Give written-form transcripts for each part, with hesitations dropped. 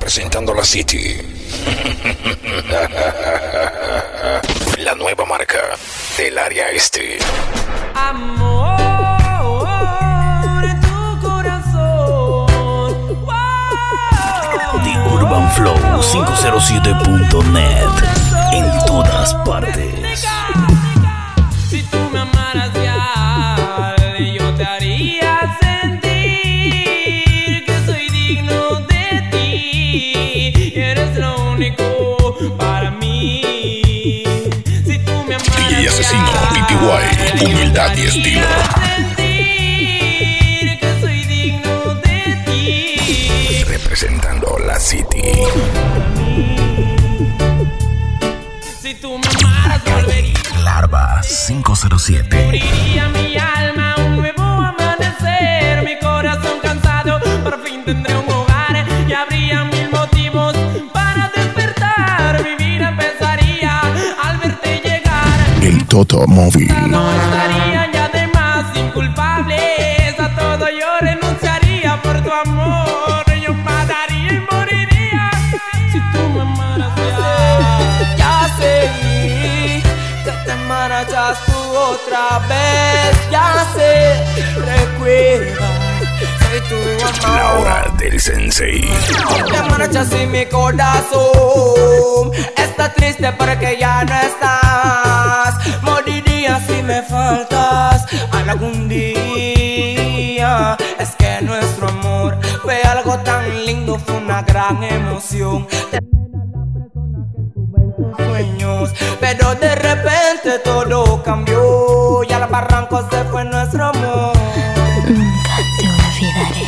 representando la City. La nueva marca del área este. Amor en tu corazón. The Urban Flow 507.net. En todas partes. Si tú me amaras ya, yo te haría sentir que soy digno de ti. Eres lo único para mí. Si tú me amaras DJ Asesino, PTY, humildad y estilo. Sentir que soy digno de ti. Representando la City. Si tú me amaras volvería. Larva 507. Abriría mi alma, un nuevo amanecer. Mi corazón cansado, por fin tendré un hogar. Y habría mil motivos para despertar. Mi vida empezaría al verte llegar. El Toto Móvil. No estaría ya de más inculpables. A todo yo renunciaría por tu amor. Yo mataría y moriría si tú me amaras ya. Ya sé que te marchas tú otra vez. Ya sé, recuerda, soy tu amor. La hora del sensei. Te marchas y mi corazón está triste porque ya no estás. Moriría si me faltas algún día. Es que nuestro amor fue algo tan lindo, fue una gran emoción. Tener a la persona que estuvo en tus sueños, pero de repente todo cambió. Y al barranco se fue nuestro amor. Nunca te olvidaré.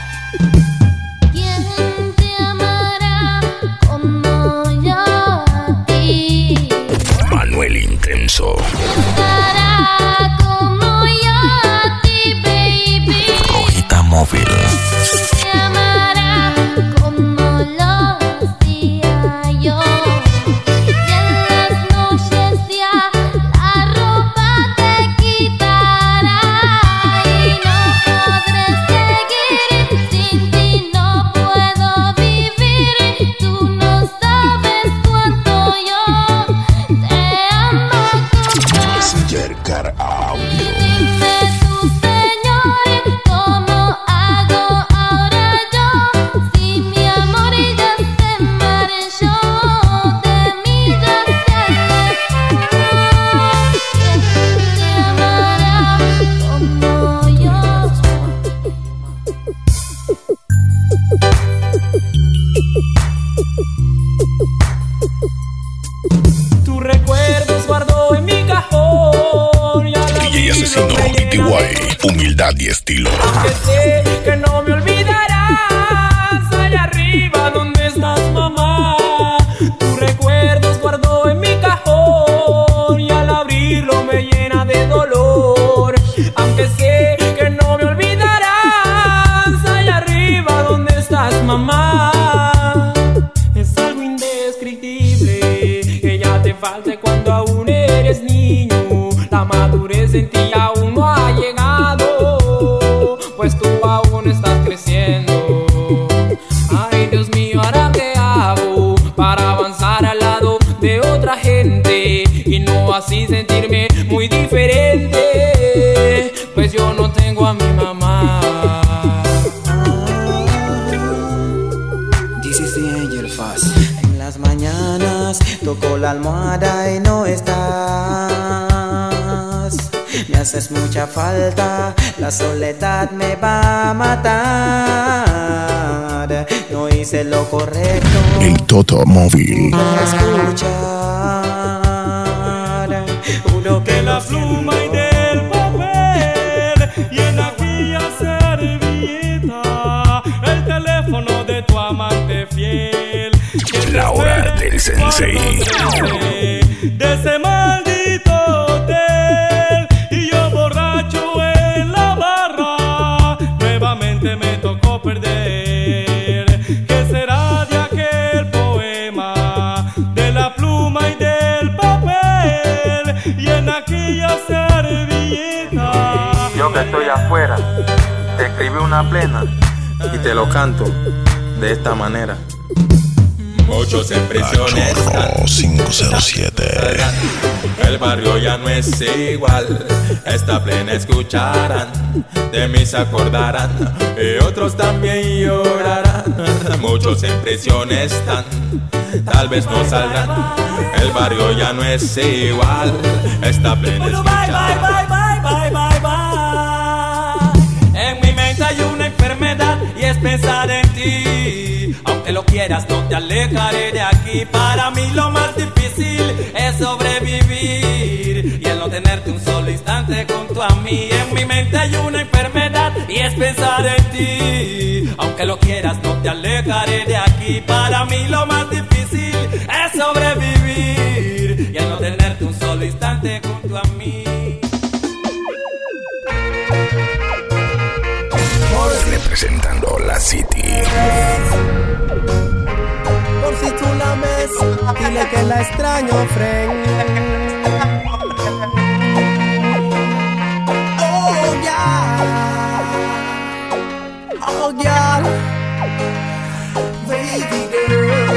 ¿Quién te amará como yo a ti? Manuel Intenso. Estará como yo a ti, baby. Rojita Móvil. Te amará como lo hacía yo. Y en las noches ya la ropa te quitará. Y no podré seguir sin ti, no puedo vivir. Tú no sabes cuánto yo te amo. Yerkar Audio. Dime tú, Señor, ¿cómo hago ahora yo? Si mi amor ya se marchó, de mí ya se alejó. ¿Quién te amará como yo? Tus recuerdos guardo en mi cajón. Y al DJ Asesino, abrirlo me llena de PTY, humildad y estilo. que sé que no me olvidarás. Allá arriba donde estás, mamá. Tus recuerdos guardo en mi cajón. Y al abrirlo me llena de dolor. Aunque sé que no me olvidarás. Allá arriba donde estás, mamá. Es algo indescriptible que ya te falte cuando aún eres niño. La madurez en ti aún no ha llegado, pues tú aún estás creciendo. Ay, Dios mío, ¿ahora qué hago para avanzar al lado de otra gente y no así sentirme muy diferente? Pues yo no tengo a mi mamá. This is the Angel Fast. En las mañanas toco la almohada y no estás. Me haces mucha falta, la soledad me va a matar. No hice lo correcto. El Toto Móvil. Escuchar. Juro que La pluma y del papel y en aquella servilleta el teléfono de tu amante fiel. La hora del sensei. De ese maldito hotel y yo borracho en la barra, nuevamente me tocó perder. ¿Qué será de aquel poema? De la pluma y del papel y en aquella servilleta. Yo que estoy afuera, te escribí una plena y te lo canto de esta manera. Muchos en prisión están. 507. El barrio ya no es igual. Esta plena escucharán, de mí se acordarán y otros también llorarán. Muchos en prisión están, tal vez no saldrán. El barrio ya no es igual. Esta plena escucharán. En mi mente hay una enfermedad y es pensar en ti. Aunque lo quieras, no te alejaré de aquí. Para mí lo más difícil es sobrevivir y el no tenerte un solo instante junto a mí. En mi mente hay una enfermedad y es pensar en ti. Aunque lo quieras, no te alejaré de aquí. Para mí lo más difícil es sobrevivir y el no tenerte un solo instante junto a mí. Representando la City. Por si tú la ves, dile que la extraño, friend. Oh, yeah. Oh, yeah. Baby girl.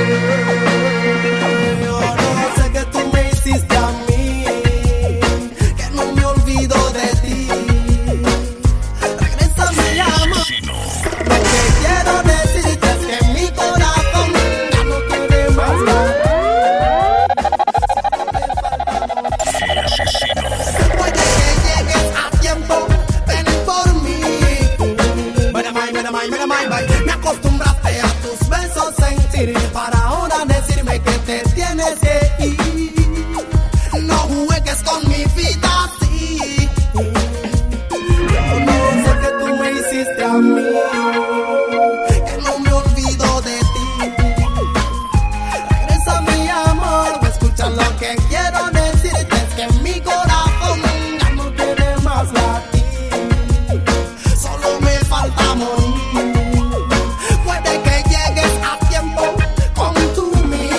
Yo no sé que tú me hiciste a mí, que no me olvido de ti. Regresa, me llama. Lo que quiero decirte es que mi corazón ya no quiere más nada. Puede que llegues a tiempo, ven por mí. Me acostumbraste a tus besos sentir, para ahora decirme que te tienes que ir. No juegues con mi vida así. Yo no sé que tú me hiciste a mí, que no me olvido de ti. Regresa, mi amor, escucha lo que quiero decirte, es que mi corazón ya no quiere más latir. Solo me falta morir. Puede que llegues a tiempo con tu mí.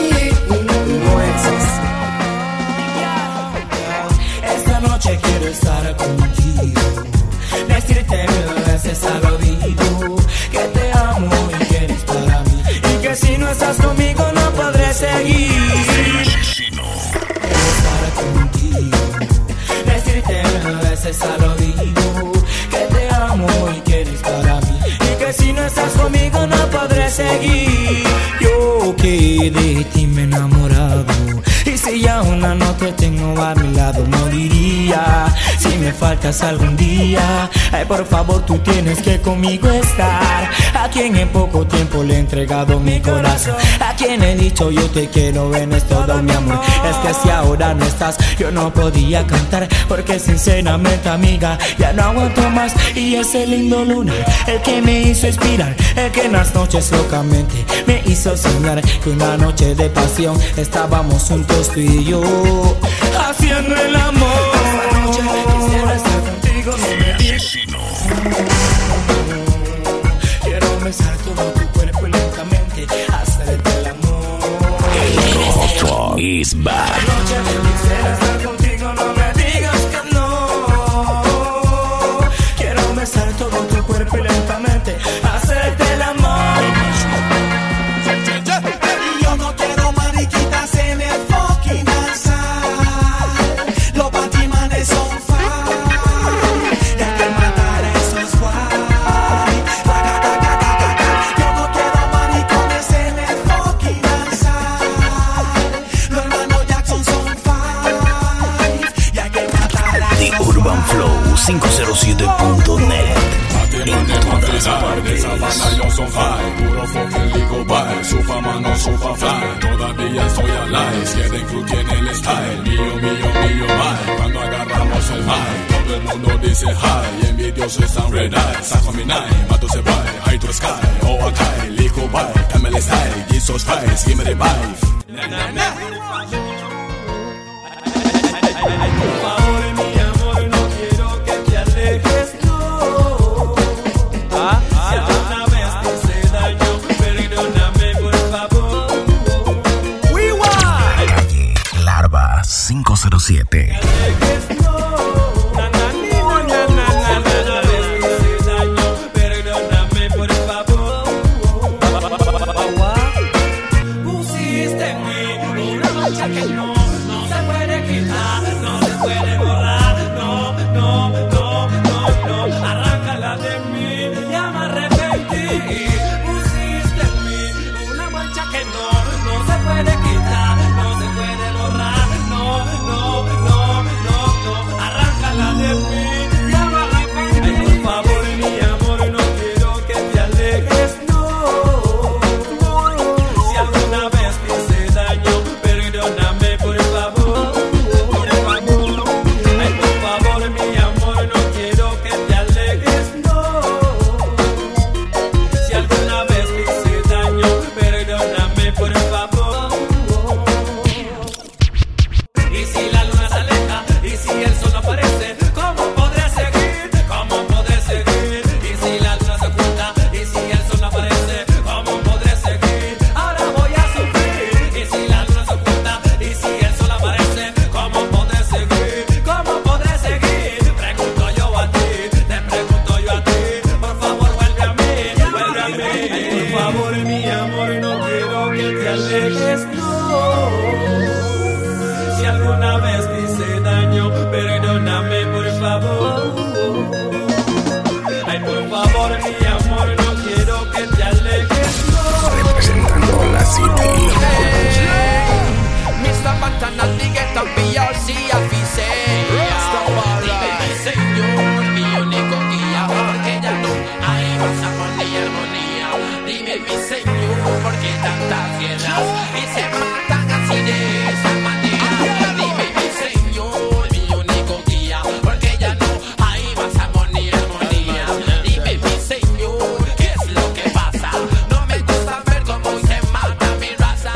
Esta noche quiero estar contigo, decirte mil veces al oído que te amo y que eres para mí, y que si no estás conmigo no podré seguir. Quiero estar contigo, decirte mil veces al oído que te amo y que eres para mí, y que si no estás conmigo no podré seguir. Yo que de ti me he enamorado, y si ya una no te tengo a mi lado moriría si me faltas algún día. Ay, por favor, tú tienes que conmigo estar. A quien en poco tiempo le he entregado mi corazón, a quien he dicho yo te quiero, ven, es todo mi amor. Es que si ahora no estás, yo no podía cantar, porque sinceramente, amiga, ya no aguanto más. Y ese lindo lunar, el que me hizo inspirar, el que en las noches locamente me hizo soñar que una noche de pasión estábamos juntos tú y yo, haciendo el amor. Esta noche quisiera estar contigo, no me digas. Quiero besar todo tu cuerpo y lentamente hacerte el amor. El Rojo is back. Esta noche quisiera estar contigo, no me digas que no. Quiero besar todo tu cuerpo y lentamente hacerte el amor. Yo no quiero mariquitas en el fucking alzar. Los batimanes son fine, y hay que matar a esos guay. Yo no quiero maricones en el fucking alzar. Los hermanos Jackson son fine, y hay que matar a The esos Urban Flow 507.net. En todas partes. Yo son high, puro fucking legal bye. Su fama no super fly, todavía soy alive. Quieren crew tiene el style, mío, bye. Cuando agarramos el high, todo el mundo dice hi. Envidiosos están red eye, saco mi nine, mato se bye. High to sky, oh okay, legal bye. ML style, Jesus Christ, give me the vibe. Ay, por favor, mi amor, no quiero que te alejes, no. Si alguna vez te hice daño, perdóname, por favor. Larva 507. guerras y se matan así de esa manera. Dime mi Señor, mi único guía, porque ya no hay más amor ni armonía. Dime mi Señor, ¿qué es lo que pasa? No me gusta ver cómo se mata mi raza.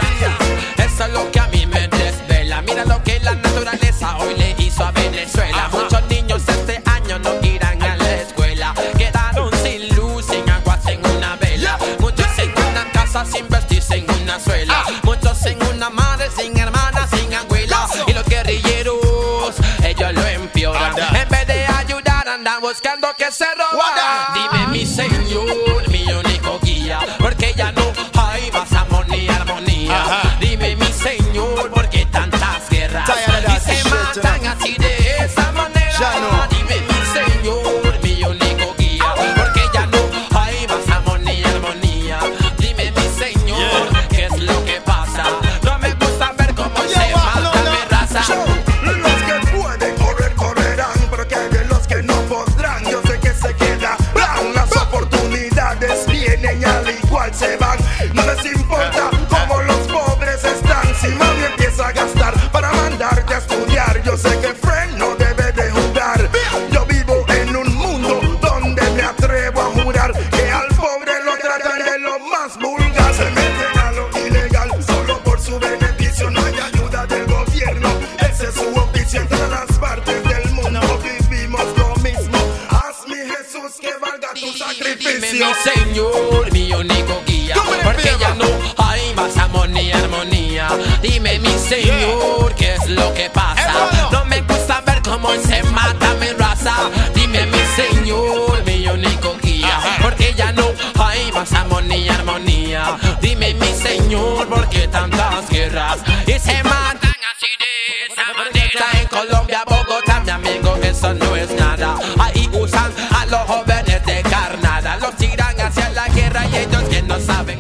Eso es lo que a mí me desvela. Mira lo que la naturaleza hoy le hizo a Venezuela. Muchos niños este año no irán a la escuela. Quedaron sin luz, sin agua, sin una vela. Muchos en una casa sin vestirse en una suela. Muchos en una madre sin hermana, sin abuela. Y los guerrilleros, ellos lo empeoran. En vez de ayudar andan buscando que se roban. Dime mi Señor, mi único guía, porque ya no hay más amor ni armonía. Dime mi Señor, ¿por qué tantas guerras y se matan así de esa manera? Dime mi Señor, mi único guía, porque ya no hay más amor ni armonía. Dime mi Señor, ¿qué es lo que pasa? No me gusta ver cómo se mata mi raza. Los que pueden correr, correrán, pero que hay de los que no podrán. Yo sé que se quedarán. Las oportunidades vienen y al igual se van. No les importa cómo los pobres están. Si mami empieza a gastar para mandarte a estudiar, yo sé que friend no debe de jugar. Yo vivo en un mundo donde me atrevo a jurar que al pobre lo tratan de lo más vulgar. Se meten a lo ilegal solo por su beneficio. No hay ayuda del gobierno, ese es su oficio. En todas las partes del mundo vivimos lo mismo. Hazme Jesús que valga tu sacrificio. Dime mi Señor, mi único guía, porque ya no hay más amor ni armonía. Dime mi Señor, ¿qué es lo que pasa? No me gusta ver cómo se mata mi raza. Dime mi Señor, mi único guía, porque ya no hay más amor ni armonía. Dime mi Señor, ¿por qué tantas guerras y se matan así de esa manera? En Colombia, Bogotá, mi amigo, eso no es nada. Ahí usan a los jóvenes de carnada, los tiran hacia la guerra y ellos que no saben.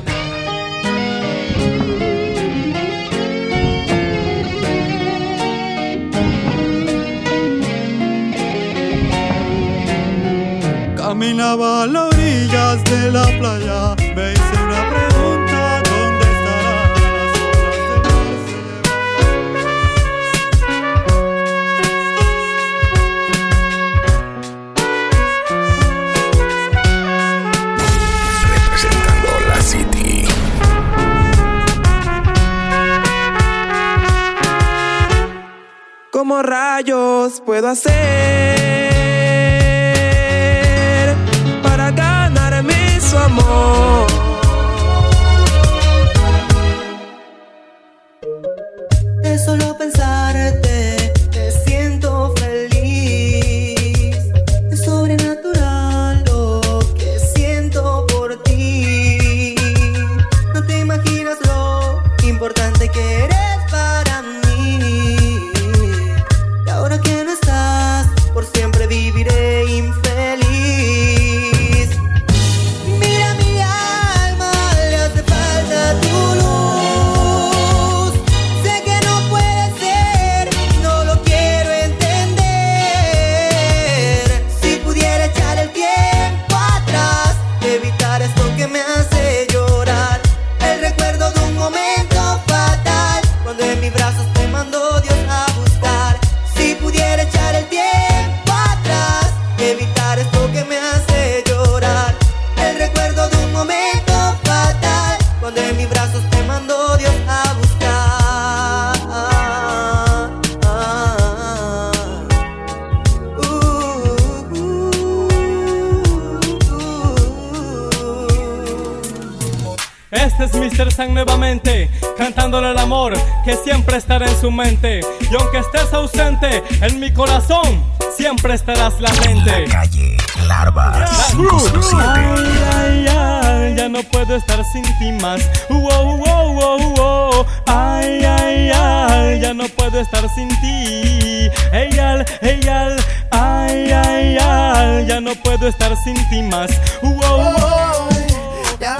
Caminaba a las orillas de la playa, me hice una pregunta, ¿dónde estarán las olas de representando la City. ¿Cómo rayos puedo hacer para ganarme su amor? De solo pensarte te siento feliz. Es sobrenatural lo que siento por ti. No te imaginas lo importante que eres para mí. Y ahora que no estás, por siempre viviré infeliz. Mira mi alma, le hace falta tu luz. Sé que no puede ser, no lo quiero entender. Si pudiera echar el tiempo atrás, evitar esto que me hace llorar. El recuerdo de un momento fatal, cuando en mis brazos te mandó Dios a buscar. Si pudiera echar el tiempo atrás, evitar esto que me hace llorar. El recuerdo de un momento fatal, cuando en mis brazos te mandó Dios a buscar. Este es Mr. Sang nuevamente, cantándole el amor que siempre estará en su mente. Y aunque estés ausente, en mi corazón siempre estarás latente. La calle Larva 507. Ay, ay, ay, ya no puedo estar sin ti más. Ay, ay, ay, ya no puedo estar sin ti. Eyal, eyal, ay, ay, ay, ya no puedo estar sin ti más. Ya.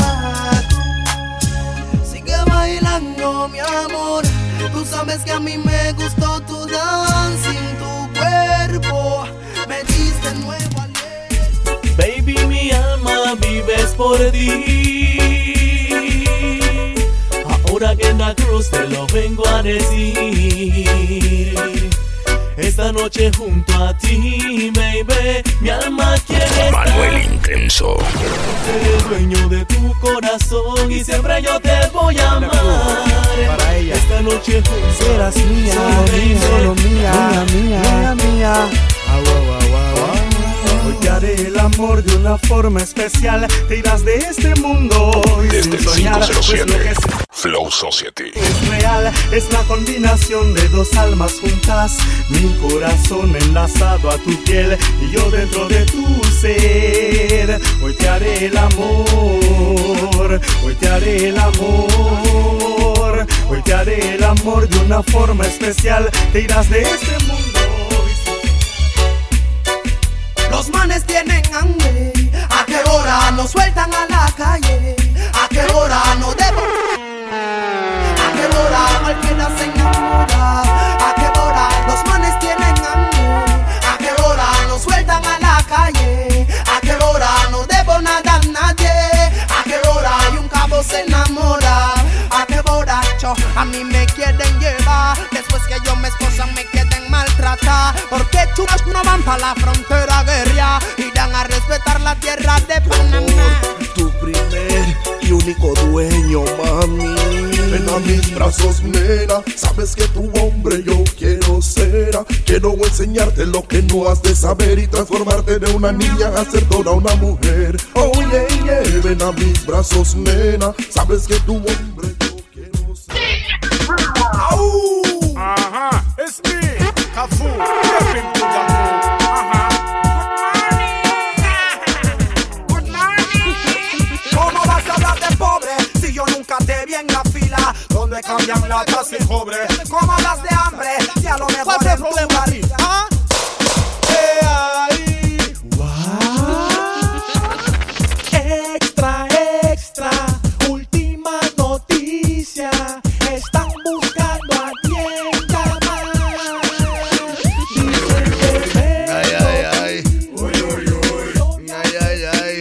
Sigue bailando, mi amor. Tú sabes que a mí me gustó tu dancing, tu cuerpo me diste nuevo aliento. Baby, mi alma vives por ti. ahora que en la cruz te lo vengo a decir. Esta noche junto a ti, baby, mi alma quiere estar. Manuel Intenso. Seré dueño de tu corazón y siempre yo te voy a amar. Para ella. Esta noche junto serás mía, solo mía, mía. Hoy te haré el amor de una forma especial. Te irás de este mundo y desde sin soñar, el 507 pues lo que Flow Society es real, es la combinación de dos almas juntas. Mi corazón enlazado a tu piel y yo dentro de tu ser. Hoy te haré el amor, hoy te haré el amor, hoy te haré el amor de una forma especial. Te irás de este mundo. Los manes tienen hambre. ¿A qué hora nos sueltan a la calle? ¿A qué hora no debo? ¿A qué hora cualquiera se enamora? ¿A qué hora los manes tienen hambre? ¿A qué hora nos sueltan a la calle? ¿A qué hora no debo nada a nadie? ¿A qué hora y un cabo se enamora? ¿A qué borracho a mí me quieren llevar? Después que yo me esposan me quieren maltratar. Porque chulos no van pa' la frontera guerra, irán a respetar la tierra de Panamá. Tu primer y único dueño, mami. Ven a mis brazos, nena. Sabes que tu hombre yo quiero ser. Quiero enseñarte lo que no has de saber y transformarte de una niña a ser toda una mujer. Oh yeah, yeah. Ven a mis brazos, nena. Sabes que tu hombre yo quiero ser. Ajá, it's me, Cafu. Stepping to the moon. Ajá. Good morning. ¿Cómo vas a hablar de pobre si yo nunca te vi en la fila donde cambian latas y cobre? ¿Cómo hablas de hambre si a lo mejor es tu barriga? ¿Ah? Extra, extra, última noticia. Están buscando a quien llamar. Ay, ay, ay. Uy, uy, uy. Ay, ay, ay.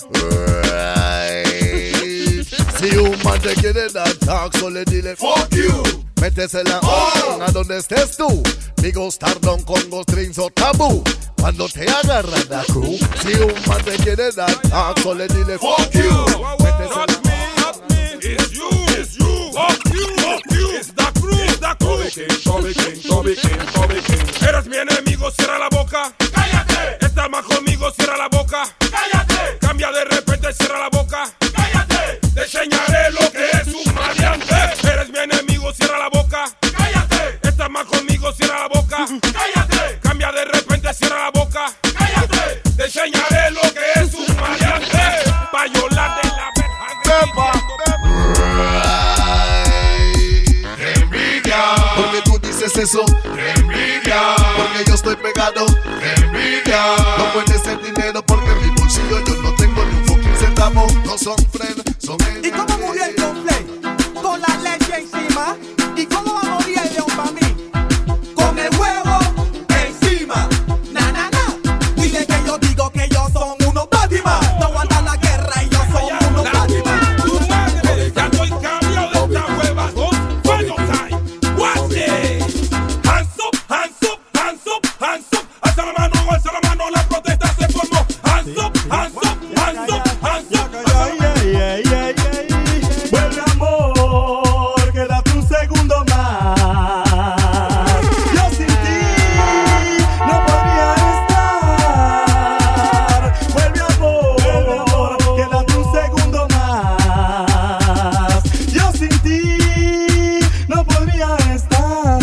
Right. Si un man te quiere dar talk, solo dile fuck you. Métesela a donde estés tú. Migos, tardón, congos, drinks o tabú. Cuando te agarran la crew. Si un man te quiere dar talk, solo dile fuck you. Métesela. It's you, it's you. Fuck you, fuck you. It's the crew, it's the crew. Toby King. Eres mi enemigo, cierra la boca. Cállate. Estás más conmigo, cierra la boca. Cállate. Cambia de repente, cierra la boca. Cállate. Te enseñaré lo que es un maleante. Eres mi enemigo, cierra la boca. Cállate. Estás más conmigo, cierra la boca. Cállate. Cambia de repente, cierra la boca. Cállate. Te enseñaré lo que es un maleante. Payola de la verja. Envidia. Porque tú dices eso. Envidia. Porque yo estoy pegado. Envidia. No puede ser dinero porque en mi bolsillo yo no tengo ni un fucking centavo. No son friends, son enemigos. ¿Y cómo murió el conflay? Con la leche encima. ¿Y cómo va a morir el león para mí? Con el huevo encima. Na, na, na. Dile que yo digo que ellos son unos Batman. No aguantan la guerra y ellos son unos Batman. Tu madre, ya estoy cambiado de esta hueva con Final Time. Watch it. Hands up, hands up, hands up, hands up. Alza la mano, la protesta se formó. Hands up, hands up, hands up, hands up. Vuelve amor, quédate un segundo más. Yo sin ti no podría estar. Vuelve amor, quédate un segundo más. Yo sin ti no podría estar.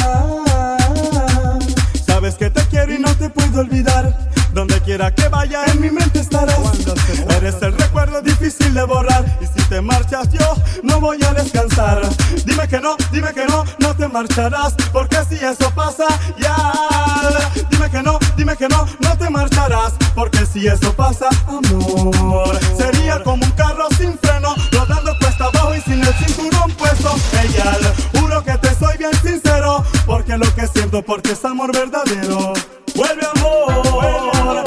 Sabes que te quiero y no te puedo olvidar. Donde quiera que vaya en mi mente estarás. Eres el recuerdo difícil de borrar. Y si te marchas yo no voy a descansar. Dime que no te marcharás. Porque si eso pasa ya. Dime que no te marcharás. Porque si eso pasa, amor, sería como un carro sin freno, rodando cuesta abajo y sin el cinturón puesto. Ella, juro que te soy bien sincero. Porque lo que siento por ti es amor verdadero. Vuelve amor,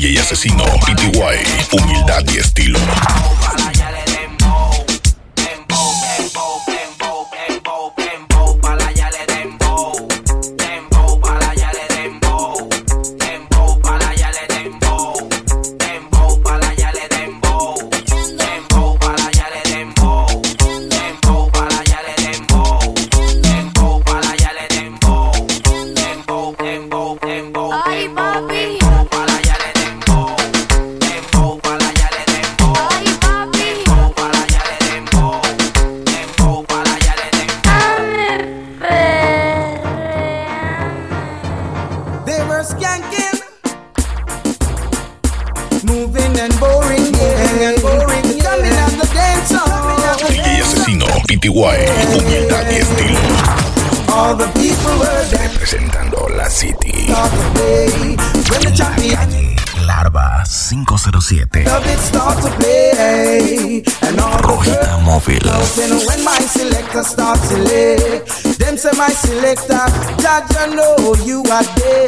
DJ Asesino, PTY, humildad y estilo. Moving and boring, yeah. Coming at the dance hall. DJ Asesino, PTY, humildad y estilo. All the people were there. Representando la City. When the champion Larva 507. of it start to play, and all Rojita Móvil. the when my selector starts to select, them say my selector, Judge, I know you are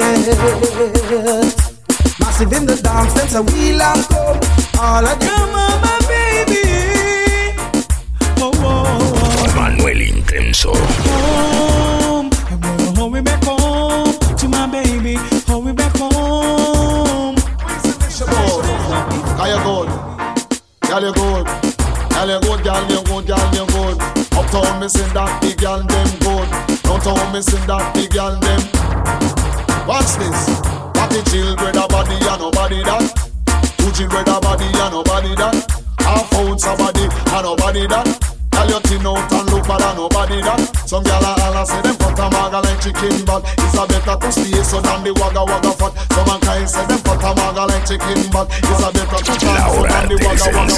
there. Massive in the dance, them say we long come. All of them, my baby. Oh, oh, oh. Manuel Intenso. Home, I'm gonna hold me back home to my baby. Hold me back home. Girl, you good. Girl, you good. Girl, you good. Girl, you good. Girl, you good. Uptown, me sing that big girl, them good. Downtown, me sing that big girl, them. Watch this. Party chill, brother body, and nobody that. Two chill, brother body, and nobody that. Half found somebody, and nobody that. Girl, you thin out and look bad, and nobody that. Some gyal a holla say them cut a maga like chicken bad. It's a better to stay so than the wagga fat. Some mankind say them cut a maga like chicken bad. It's a better to stay so than the wagga fat.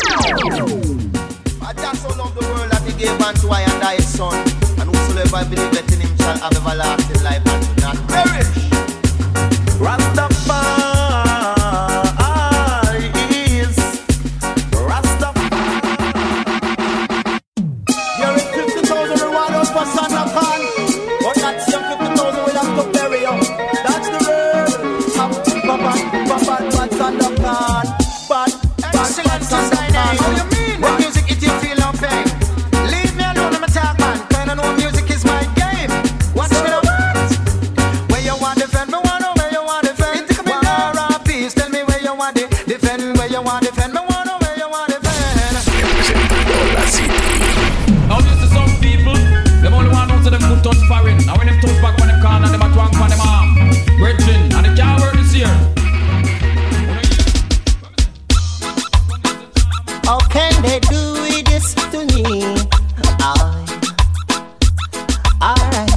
I just so love the world that he gave unto I and I his son, and whosoever believeth in him shall have everlasting life and should not perish. Rastafari is Rastafari. You're in 50,000 reward out for Sandakan, but that's your 50,000 we have to bury you. That's the word. Bad Sandakan. Bad Sandakan. How you mean? What music it you feel no pain? Leave me alone, I'm a talk man. Kinda know music is my game. Watch me now. Where you want defend me, wanna where you want defend. War or peace, tell me where you want defend. Where you want defend me, wanna where you want defend. Now this is some people, them only want to them good touch foreign. Now when them touch back on them corner, them a twang on them arm. Virgin, and they can't work this year. How can they do this to me? Alright.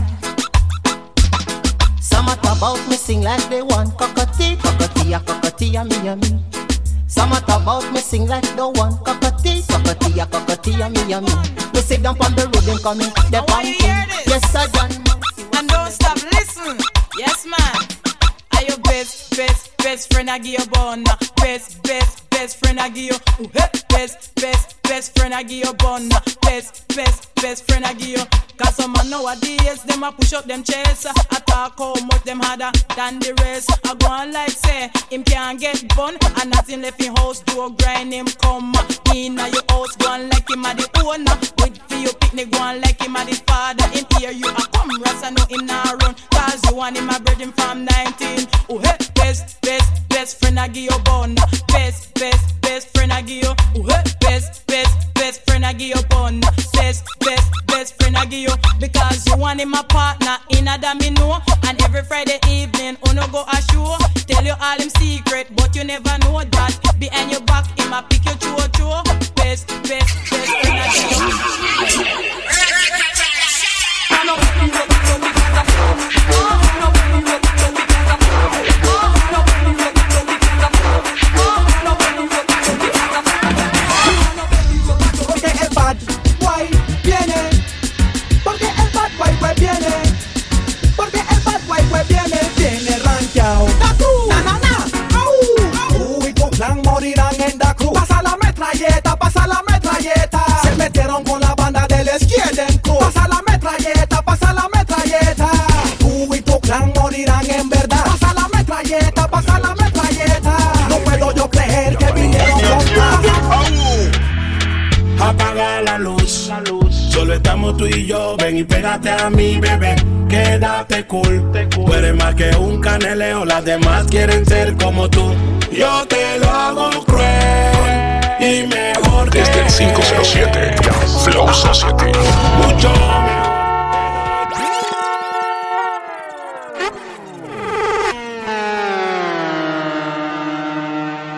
Some talk about me sing like they want cockatee, me and me. Some talk about me sing like they want cockatee, me and me. We sit down on the road and coming, they're pumping. Yes, sir, John. And don't stop, listen. Yes, man. Are your best friend I give you bun? Best friend I give you. Best friend I give you bun. Best friend I give you. Cause some man nowadays, them a push up them chest. I talk how much them harder than the rest. I go on like say, him can't get bun. And nothing left in house, do a grind him come. In your house, go on like him a the owner. With for your picnic, go on like him a the father. In here you a come, Rasta know him nah run. Cause you want him a virgin from 19. Oh hey, best friend I give you bun. Best friend I give you. Oh hey, best friend I give you bun. Best friend I give you. Because you want him a partner in a that me know. And every Friday evening, uno go a show. Tell you all him secret, but you never know that. Behind your back, him a pick your choo. Best friend I give you. Pasa la metralleta. Se metieron con la banda del Skeleton Crew. Pasa la metralleta. Tú y tu clan morirán solo estamos tú y yo. Ven y pégate a mí, bebé, quédate cool. Tú eres más que un caneleo, las demás quieren ser como tú. Yo te lo hago cruel y mejor que desde el 507 Flow Society. mucho